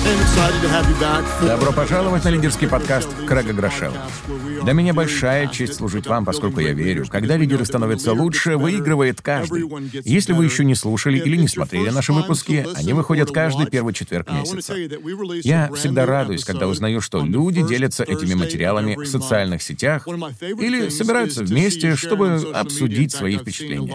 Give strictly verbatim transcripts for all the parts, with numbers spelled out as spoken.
Добро пожаловать на лидерский подкаст Крэга Грошева. Для меня большая честь служить вам, поскольку я верю, когда лидеры становятся лучше, выигрывает каждый. Если вы еще не слушали или не смотрели наши выпуски, они выходят каждый первый четверг месяца. Я всегда радуюсь, когда узнаю, что люди делятся этими материалами в социальных сетях или собираются вместе, чтобы обсудить свои впечатления.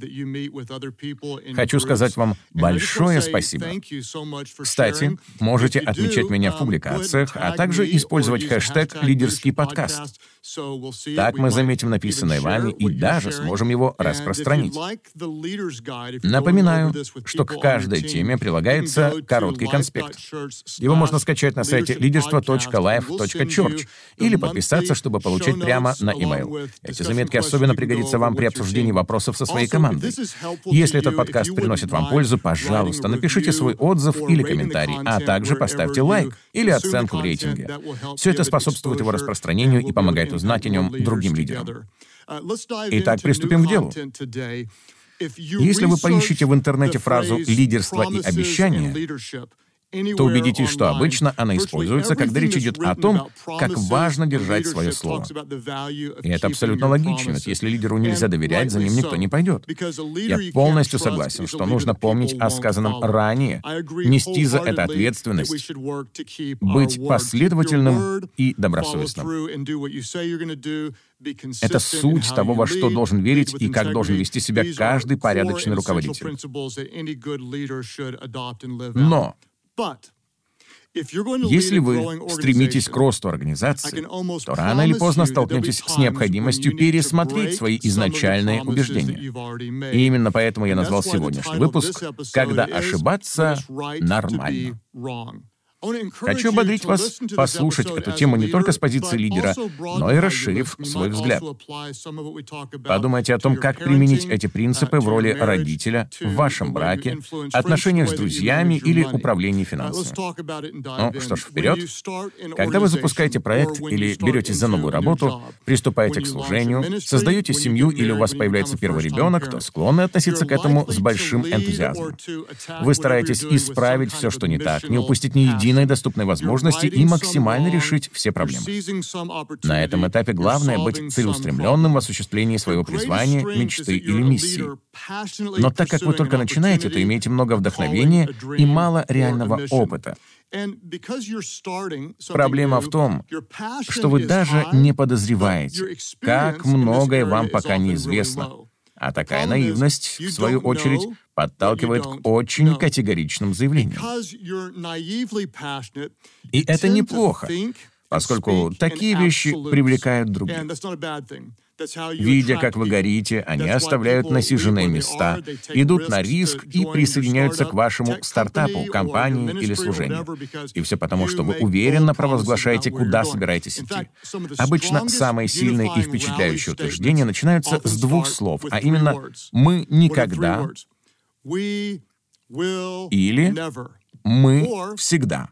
Хочу сказать вам большое спасибо. Кстати, можете отмечать меня в публикациях, а также использовать хэштег «Лидерский подкаст». Так мы заметим написанное вами и даже сможем его распространить. Напоминаю, что к каждой теме прилагается короткий конспект. Его можно скачать на сайте лидерство точка лайф точка чёрч или подписаться, чтобы получать прямо на e-mail. Эти заметки особенно пригодятся вам при обсуждении вопросов со своей командой. Если этот подкаст приносит вам пользу, пожалуйста, напишите свой отзыв или комментарий, а также поставьте лайк или оценку в рейтинге. Все это способствует его распространению и помогает узнать о нем другим лидерам. Итак, приступим к делу. Если вы поищете в интернете фразу «лидерство и обещание», то убедитесь, что обычно она используется, когда речь идет о том, как важно держать свое слово. И это абсолютно логично, ведь если лидеру нельзя доверять, за ним никто не пойдет. Я полностью согласен, что нужно помнить о сказанном ранее, нести за это ответственность, быть последовательным и добросовестным. Это суть того, во что должен верить и как должен вести себя каждый порядочный руководитель. Но если вы стремитесь к росту организации, то рано или поздно столкнетесь с необходимостью пересмотреть свои изначальные убеждения. И именно поэтому я назвал сегодняшний выпуск «Когда ошибаться нормально». Хочу ободрить вас послушать эту тему не только с позиции лидера, но и расширив свой взгляд. Подумайте о том, как применить эти принципы в роли родителя, в вашем браке, отношениях с друзьями или управлении финансами. Ну что ж, вперед. Когда вы запускаете проект или беретесь за новую работу, приступаете к служению, создаете семью или у вас появляется первый ребенок, то склонны относиться к этому с большим энтузиазмом. Вы стараетесь исправить все, что не так, не упустить ни единого доступной возможности и максимально решить все проблемы. На этом этапе главное — быть целеустремленным в осуществлении своего призвания, мечты или миссии. Но так как вы только начинаете, то имеете много вдохновения и мало реального опыта. Проблема в том, что вы даже не подозреваете, как многое вам пока неизвестно. А такая наивность, в свою очередь, подталкивает к очень категоричным заявлениям. И это неплохо, поскольку такие вещи привлекают других. Видя, как вы горите, они оставляют насиженные места, идут на риск и присоединяются к вашему стартапу, компании или служению. И все потому, что вы уверенно провозглашаете, куда собираетесь идти. Обычно самые сильные и впечатляющие утверждения начинаются с двух слов, а именно «мы никогда» или «мы всегда».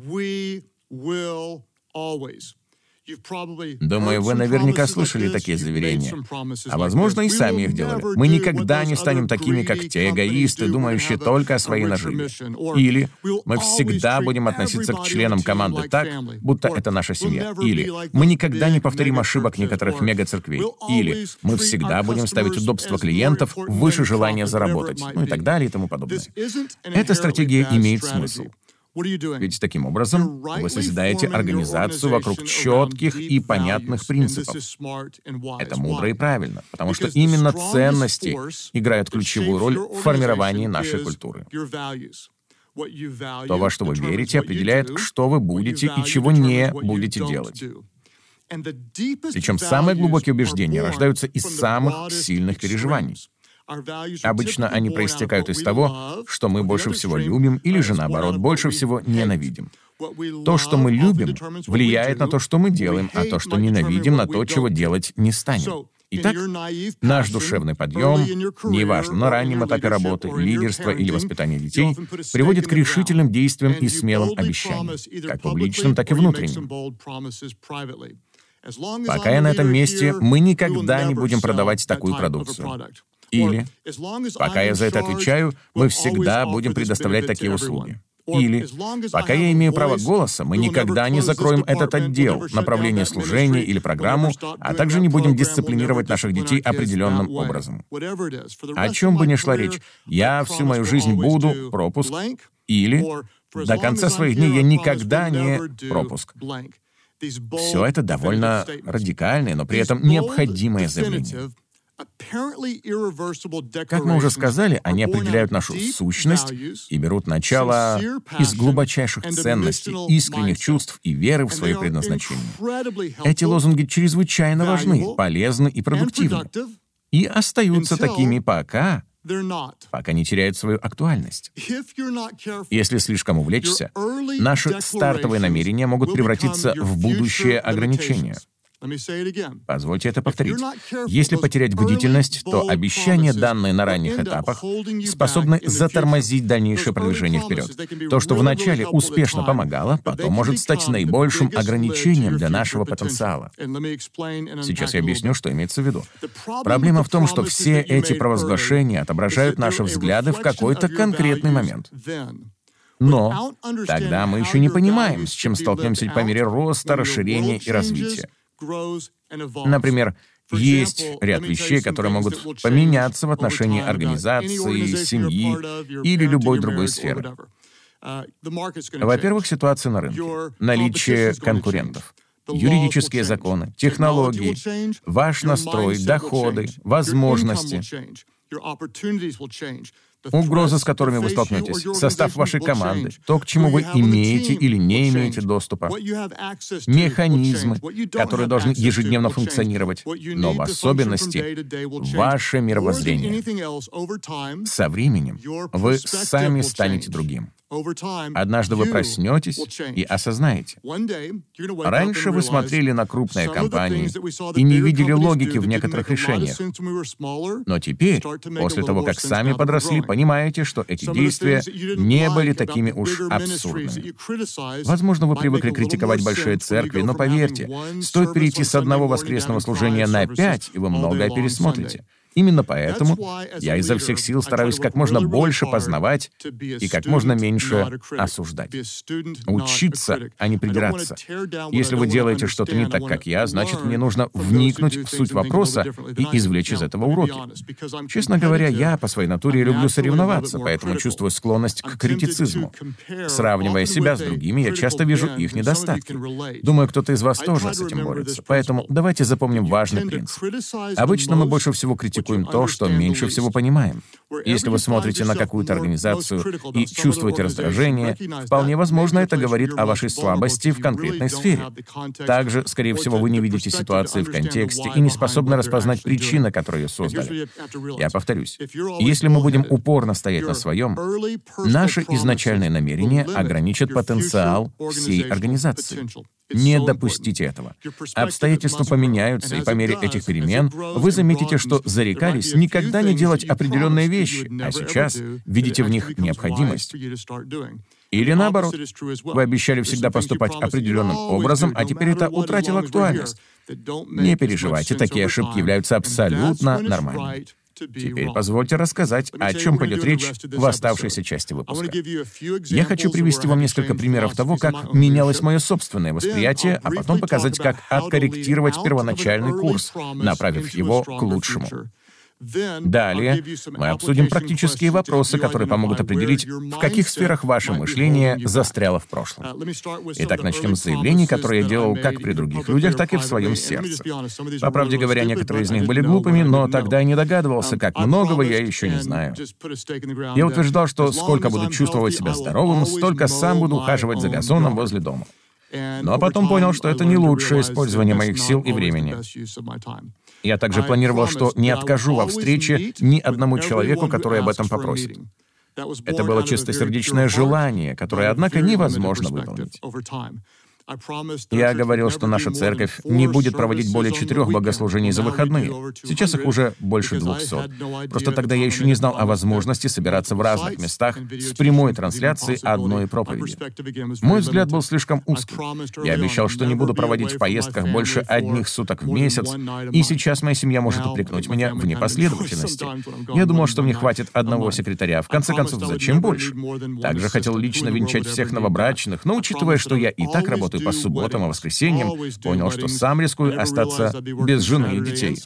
Думаю, вы наверняка слышали такие заверения. А возможно, и сами их делали. Мы никогда не станем такими, как те эгоисты, думающие только о своей наживе. Или мы всегда будем относиться к членам команды так, будто это наша семья. Или мы никогда не повторим ошибок некоторых мега-церквей. Или мы всегда будем ставить удобство клиентов выше желания заработать. Ну и так далее и тому подобное. Эта стратегия имеет смысл. Ведь таким образом вы созидаете организацию вокруг четких и понятных принципов. Это мудро и правильно, потому что именно ценности играют ключевую роль в формировании нашей культуры. То, во что вы верите, определяет, что вы будете и чего не будете делать. Причем самые глубокие убеждения рождаются из самых сильных переживаний. Обычно они проистекают из того, что мы больше всего любим, или же, наоборот, больше всего ненавидим. То, что мы любим, влияет на то, что мы делаем, а то, что ненавидим, на то, чего делать не станем. Итак, наш душевный подъем, неважно, на раннем этапе работы, лидерства или воспитания детей, приводит к решительным действиям и смелым обещаниям, как публичным, так и внутренним. Пока я на этом месте, мы никогда не будем продавать такую продукцию. Или, пока я за это отвечаю, мы всегда будем предоставлять такие услуги. Или, пока я имею право голоса, мы никогда не закроем этот отдел, направление служения или программу, а также не будем дисциплинировать наших детей определенным образом. О чем бы ни шла речь, я всю мою жизнь буду пропуск, или до конца своих дней я никогда не пропуск. Все это довольно радикальное, но при этом необходимое заявление. Как мы уже сказали, они определяют нашу сущность и берут начало из глубочайших ценностей, искренних чувств и веры в свое предназначение. Эти лозунги чрезвычайно важны, полезны и продуктивны. И остаются такими пока, пока не теряют свою актуальность. Если слишком увлечься, наши стартовые намерения могут превратиться в будущее ограничение. Позвольте это повторить. Если потерять бдительность, то обещания, данные на ранних этапах, способны затормозить дальнейшее продвижение вперед. То, что вначале успешно помогало, потом может стать наибольшим ограничением для нашего потенциала. Сейчас я объясню, что имеется в виду. Проблема в том, что все эти провозглашения отображают наши взгляды в какой-то конкретный момент. Но тогда мы еще не понимаем, с чем столкнемся по мере роста, расширения и развития. Например, есть ряд вещей, которые могут поменяться в отношении организации, семьи или любой другой сферы. Во-первых, ситуация на рынке, наличие конкурентов, юридические законы, технологии, ваш настрой, доходы, возможности, угрозы, с которыми вы столкнетесь, состав вашей команды, то, к чему вы имеете или не имеете доступа, механизмы, которые должны ежедневно функционировать, но в особенности ваше мировоззрение. Со временем вы сами станете другим. Однажды вы проснетесь и осознаете. Раньше вы смотрели на крупные компании и не видели логики в некоторых решениях. Но теперь, после того, как сами подросли, понимаете, что эти действия не были такими уж абсурдными. Возможно, вы привыкли критиковать большие церкви, но поверьте, стоит перейти с одного воскресного служения на пять, и вы многое пересмотрите. Именно поэтому я изо всех сил стараюсь как можно больше познавать и как можно меньше осуждать. Учиться, а не придираться. Если вы делаете что-то не так, как я, значит, мне нужно вникнуть в суть вопроса и извлечь из этого уроки. Честно говоря, я по своей натуре люблю соревноваться, поэтому чувствую склонность к критицизму. Сравнивая себя с другими, я часто вижу их недостатки. Думаю, кто-то из вас тоже с этим борется. Поэтому давайте запомним важный принцип. Обычно мы больше всего критикуем то, что меньше всего понимаем. Если вы смотрите на какую-то организацию и чувствуете раздражение, вполне возможно, это говорит о вашей слабости в конкретной сфере. Также, скорее всего, вы не видите ситуации в контексте и не способны распознать причины, которые ее создали. Я повторюсь, если мы будем упорно стоять на своем, наши изначальные намерения ограничат потенциал всей организации. Не допустите этого. Обстоятельства поменяются, и по мере этих перемен вы заметите, что зарекались никогда не делать определенные вещи, а сейчас видите в них необходимость. Или наоборот, вы обещали всегда поступать определенным образом, а теперь это утратило актуальность. Не переживайте, такие ошибки являются абсолютно нормальными. Теперь позвольте рассказать, о чем пойдет речь в оставшейся части выпуска. Я хочу привести вам несколько примеров того, как менялось мое собственное восприятие, а потом показать, как откорректировать первоначальный курс, направив его к лучшему. Далее мы обсудим практические вопросы, которые помогут определить, в каких сферах ваше мышление застряло в прошлом. Итак, начнем с заявлений, которые я делал как при других людях, так и в своем сердце. По правде говоря, некоторые из них были глупыми, но тогда я не догадывался, как многого я еще не знаю. Я утверждал, что сколько буду чувствовать себя здоровым, столько сам буду ухаживать за газоном возле дома. Но потом понял, что это не лучшее использование моих сил и времени. Я также планировал, что не откажу во встрече ни одному человеку, который об этом попросит. Это было чистосердечное желание, которое, однако, невозможно выполнить. Я говорил, что наша церковь не будет проводить более четырех богослужений за выходные. Сейчас их уже больше двухсот. Просто тогда я еще не знал о возможности собираться в разных местах с прямой трансляцией одной проповеди. Мой взгляд был слишком узкий. Я обещал, что не буду проводить в поездках больше одних суток в месяц, и сейчас моя семья может упрекнуть меня в непоследовательности. Я думал, что мне хватит одного секретаря. В конце концов, зачем больше? Также хотел лично венчать всех новобрачных, но учитывая, что я и так работаю по субботам и воскресеньям, понял, что сам рискую остаться без жены и детей.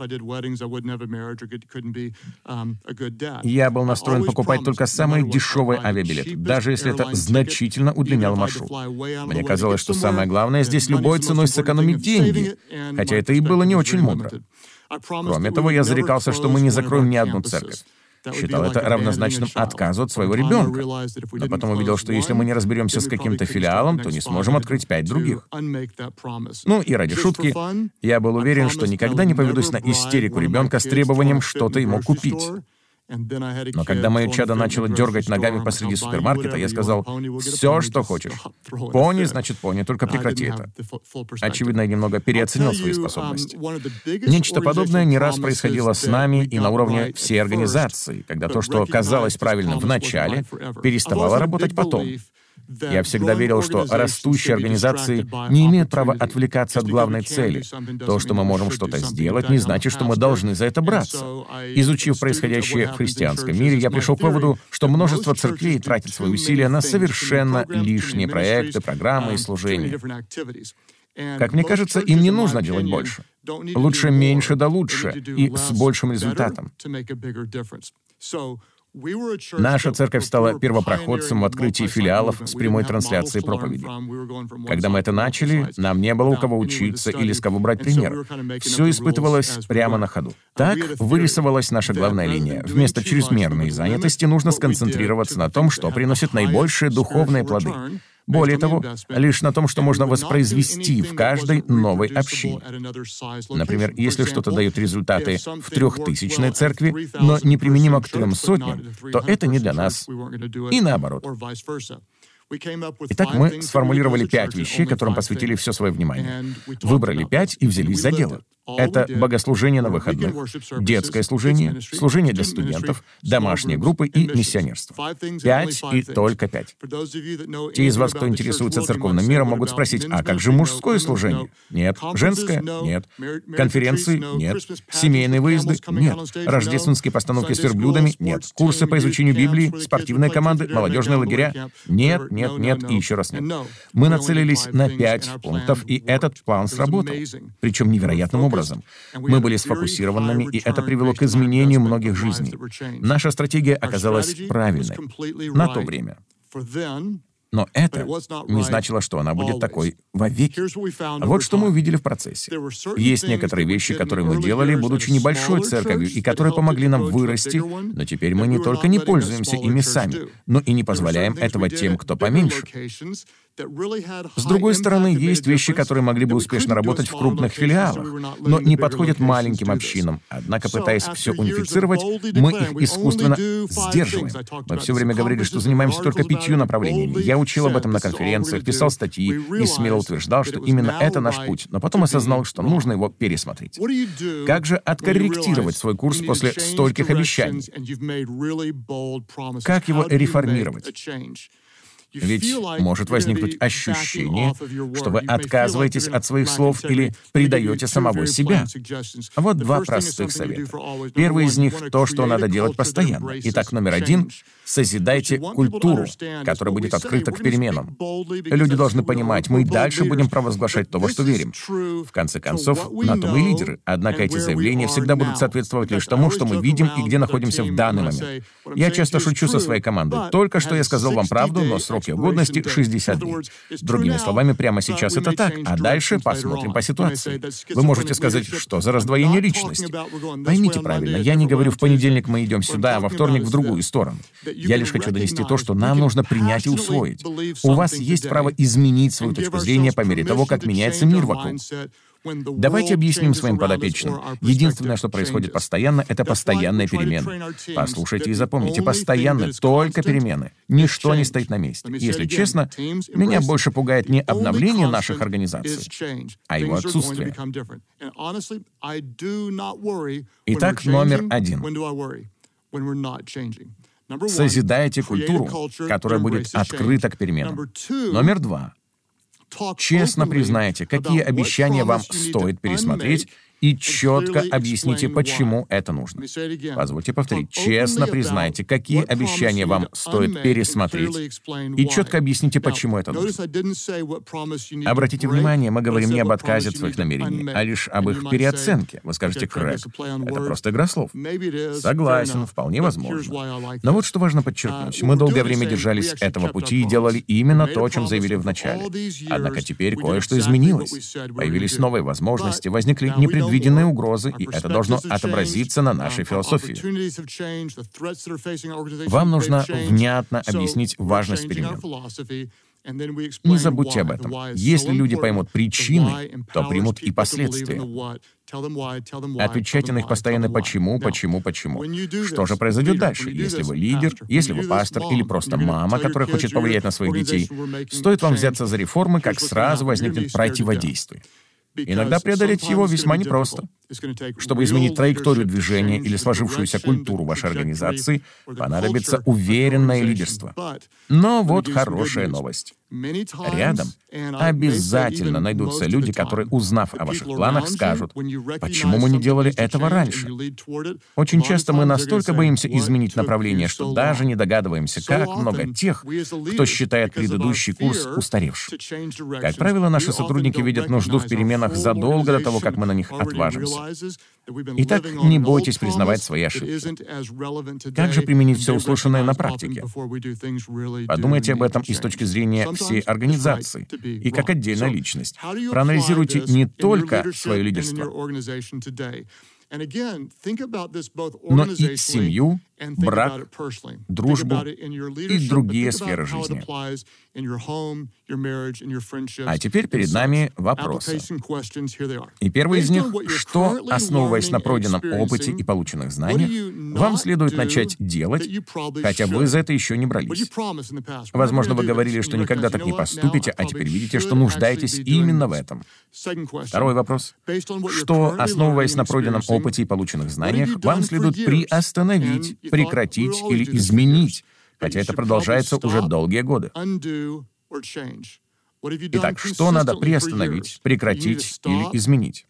Я был настроен покупать только самые дешевые авиабилеты, даже если это значительно удлиняло маршрут. Мне казалось, что самое главное здесь любой ценой сэкономить деньги, хотя это и было не очень мудро. Кроме того, я зарекался, что мы не закроем ни одну церковь. Считал это равнозначным отказу от своего ребенка. Но потом увидел, что если мы не разберемся с каким-то филиалом, то не сможем открыть пять других. Ну и ради шутки, я был уверен, что никогда не поведусь на истерику ребенка с требованием что-то ему купить. Но когда мое чадо начало дергать ногами посреди супермаркета, я сказал: «Все, что хочешь. Пони, значит пони, только прекрати это». Очевидно, я немного переоценил свои способности. Нечто подобное не раз происходило с нами и на уровне всей организации, когда то, что казалось правильным в начале, переставало работать потом. Я всегда верил, что растущие организации не имеют права отвлекаться от главной цели. То, что мы можем что-то сделать, не значит, что мы должны за это браться. Изучив происходящее в христианском мире, я пришел к выводу, что множество церквей тратит свои усилия на совершенно лишние проекты, программы и служения. Как мне кажется, им не нужно делать больше. Лучше меньше да лучше и с большим результатом. Наша церковь стала первопроходцем в открытии филиалов с прямой трансляцией проповеди. Когда мы это начали, нам не было у кого учиться или с кого брать пример. Все испытывалось прямо на ходу. Так вырисовалась наша главная линия. Вместо чрезмерной занятости нужно сконцентрироваться на том, что приносит наибольшие духовные плоды. Более того, лишь на том, что можно воспроизвести в каждой новой общине. Например, если что-то дает результаты в трехтысячной церкви, но неприменимо к трем сотням, то это не для нас. И наоборот. Итак, мы сформулировали пять вещей, которым посвятили все свое внимание. Выбрали пять и взялись за дело. Это богослужение на выходных, детское служение, служение для студентов, домашние группы и миссионерство. Пять и только пять. Те из вас, кто интересуется церковным миром, могут спросить: а как же мужское служение? Нет. Женское? Нет. Конференции? Нет. Семейные выезды? Нет. Рождественские постановки с верблюдами? Нет. Курсы по изучению Библии, спортивные команды, молодежные лагеря? Нет, нет, нет и еще раз нет. Мы нацелились на пять пунктов, и этот план сработал. Причем невероятным образом. Мы были сфокусированными, и это привело к изменению многих жизней. Наша стратегия оказалась правильной на то время. Но это не значило, что она будет такой вовеки. Вот что мы увидели в процессе. Есть некоторые вещи, которые мы делали, будучи небольшой церковью, и которые помогли нам вырасти, но теперь мы не только не пользуемся ими сами, но и не позволяем этого тем, кто поменьше. С другой стороны, есть вещи, которые могли бы успешно работать в крупных филиалах, но не подходят маленьким общинам. Однако, пытаясь все унифицировать, мы их искусственно сдерживаем. Мы все время говорили, что занимаемся только пятью направлениями. Я учил об этом на конференциях, писал статьи и смело утверждал, что именно это наш путь, но потом осознал, что нужно его пересмотреть. Как же откорректировать свой курс после стольких обещаний? Как его реформировать? Ведь может возникнуть ощущение, что вы отказываетесь от своих слов или предаете самого себя. Вот два простых совета. Первый из них — то, что надо делать постоянно. Итак, номер один — созидайте культуру, которая будет открыта к переменам. Люди должны понимать, мы и дальше будем провозглашать то, во что верим. В конце концов, на то мы и лидеры. Однако эти заявления всегда будут соответствовать лишь тому, что мы видим и где находимся в данный момент. Я часто шучу со своей командой. Только что я сказал вам правду, но срок годности шестьдесят дней. Другими словами, прямо сейчас это так, а дальше посмотрим по ситуации. Вы можете сказать, что за раздвоение личности. Поймите правильно, я не говорю, в понедельник мы идем сюда, а во вторник в другую сторону. Я лишь хочу донести то, что нам нужно принять и усвоить. У вас есть право изменить свою точку зрения по мере того, как меняется мир вокруг. Давайте объясним своим подопечным. Единственное, что происходит постоянно, это постоянные перемены. Послушайте и запомните, постоянно только перемены. Ничто не стоит на месте. Если честно, меня больше пугает не обновление наших организаций, а его отсутствие. Итак, номер один. Созидайте культуру, которая будет открыта к переменам. Номер два. Честно признайте, какие обещания вам стоит пересмотреть, и четко объясните, почему это нужно. Позвольте повторить. Честно признайте, какие обещания вам стоит пересмотреть, и четко объясните, почему это нужно. Обратите внимание, мы говорим не об отказе от своих намерений, а лишь об их переоценке. Вы скажете: Крэг, это просто игра слов. Согласен, вполне возможно. Но вот что важно подчеркнуть. Мы долгое время держались этого пути и делали именно то, о чем заявили в начале. Однако теперь кое-что изменилось. Появились новые возможности, возникли непредвиденные Виденные угрозы, и это должно отобразиться на нашей философии. Вам нужно внятно объяснить важность перемен. Не забудьте об этом. Если люди поймут причины, то примут и последствия. Отвечайте на их постоянно «почему, почему, почему». Что же произойдет дальше? Если вы лидер, если вы пастор или просто мама, которая хочет повлиять на своих детей, стоит вам взяться за реформы, как сразу возникнет противодействие. Иногда преодолеть его весьма непросто. Чтобы изменить траекторию движения или сложившуюся культуру вашей организации, понадобится уверенное лидерство. Но вот хорошая новость. Рядом обязательно найдутся люди, которые, узнав о ваших планах, скажут: «Почему мы не делали этого раньше?» Очень часто мы настолько боимся изменить направление, что даже не догадываемся, как много тех, кто считает предыдущий курс устаревшим. Как правило, наши сотрудники видят нужду в переменах задолго до того, как мы на них отважимся. Итак, не бойтесь признавать свои ошибки. Как же применить все услышанное на практике? Подумайте об этом и с точки зрения всей организации, и как отдельная личность. Проанализируйте не только свое лидерство, но и семью, брак, дружбу и другие сферы жизни. А теперь перед нами вопросы. И первый из них: что, основываясь на пройденном опыте и полученных знаниях, вам следует начать делать, хотя вы за это еще не брались? Возможно, вы говорили, что никогда так не поступите, а теперь видите, что нуждаетесь именно в этом. Второй вопрос: что, основываясь на пройденном опыте и полученных знаниях, вам следует приостановить, прекратить или изменить, хотя это продолжается уже долгие годы? Итак, что надо приостановить, прекратить или изменить?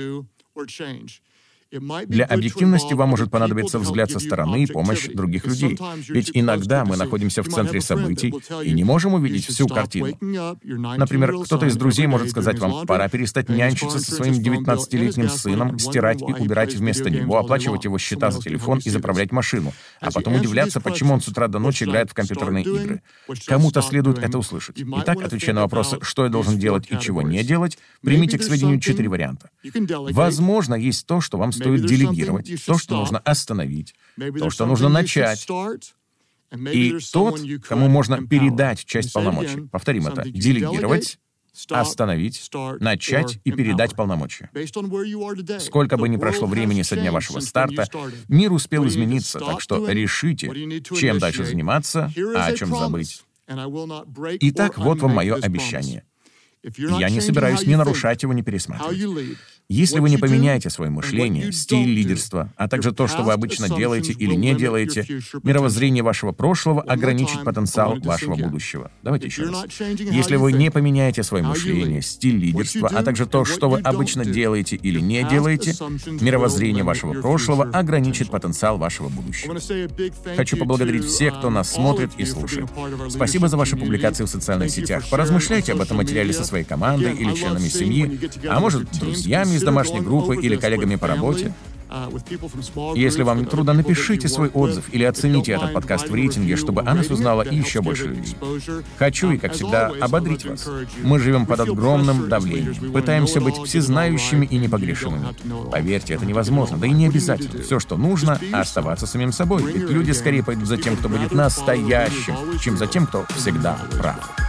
Для объективности вам может понадобиться взгляд со стороны и помощь других людей. Ведь иногда мы находимся в центре событий и не можем увидеть всю картину. Например, кто-то из друзей может сказать вам: «Пора перестать нянчиться со своим девятнадцатилетним сыном, стирать и убирать вместо него, оплачивать его счета за телефон и заправлять машину», а потом удивляться, почему он с утра до ночи играет в компьютерные игры. Кому-то следует это услышать. Итак, отвечая на вопросы, что я должен делать и чего не делать, примите к сведению четыре варианта. Возможно, есть то, что вам стоит стоит делегировать, то, что нужно остановить, то, что нужно начать, и тот, кому можно передать часть полномочий. Повторим это. Делегировать, остановить, начать и передать полномочия. Сколько бы ни прошло времени со дня вашего старта, мир успел измениться, так что решите, чем дальше заниматься, а о чем забыть. Итак, вот вам мое обещание. Я не собираюсь ни нарушать его, ни пересматривать. Если вы не поменяете свое мышление, стиль лидерства, а также то, что вы обычно делаете или не делаете, мировоззрение вашего прошлого ограничит потенциал вашего будущего. Давайте еще раз. Если вы не поменяете свое мышление, стиль лидерства, а также то, что вы обычно делаете или не делаете, мировоззрение вашего прошлого ограничит потенциал вашего будущего. Хочу поблагодарить всех, кто нас смотрит и слушает. Спасибо за ваши публикации в социальных сетях. Поразмышляйте об этом материале со своей командой или членами семьи, а может, друзьями из домашней группы или коллегами по работе. Если вам не трудно, напишите свой отзыв или оцените этот подкаст в рейтинге, чтобы о нас узнало еще больше людей. Хочу и, как всегда, ободрить вас. Мы живем под огромным давлением, пытаемся быть всезнающими и непогрешимыми. Поверьте, это невозможно, да и не обязательно. Все, что нужно, оставаться самим собой. Ведь люди скорее пойдут за тем, кто будет настоящим, чем за тем, кто всегда прав.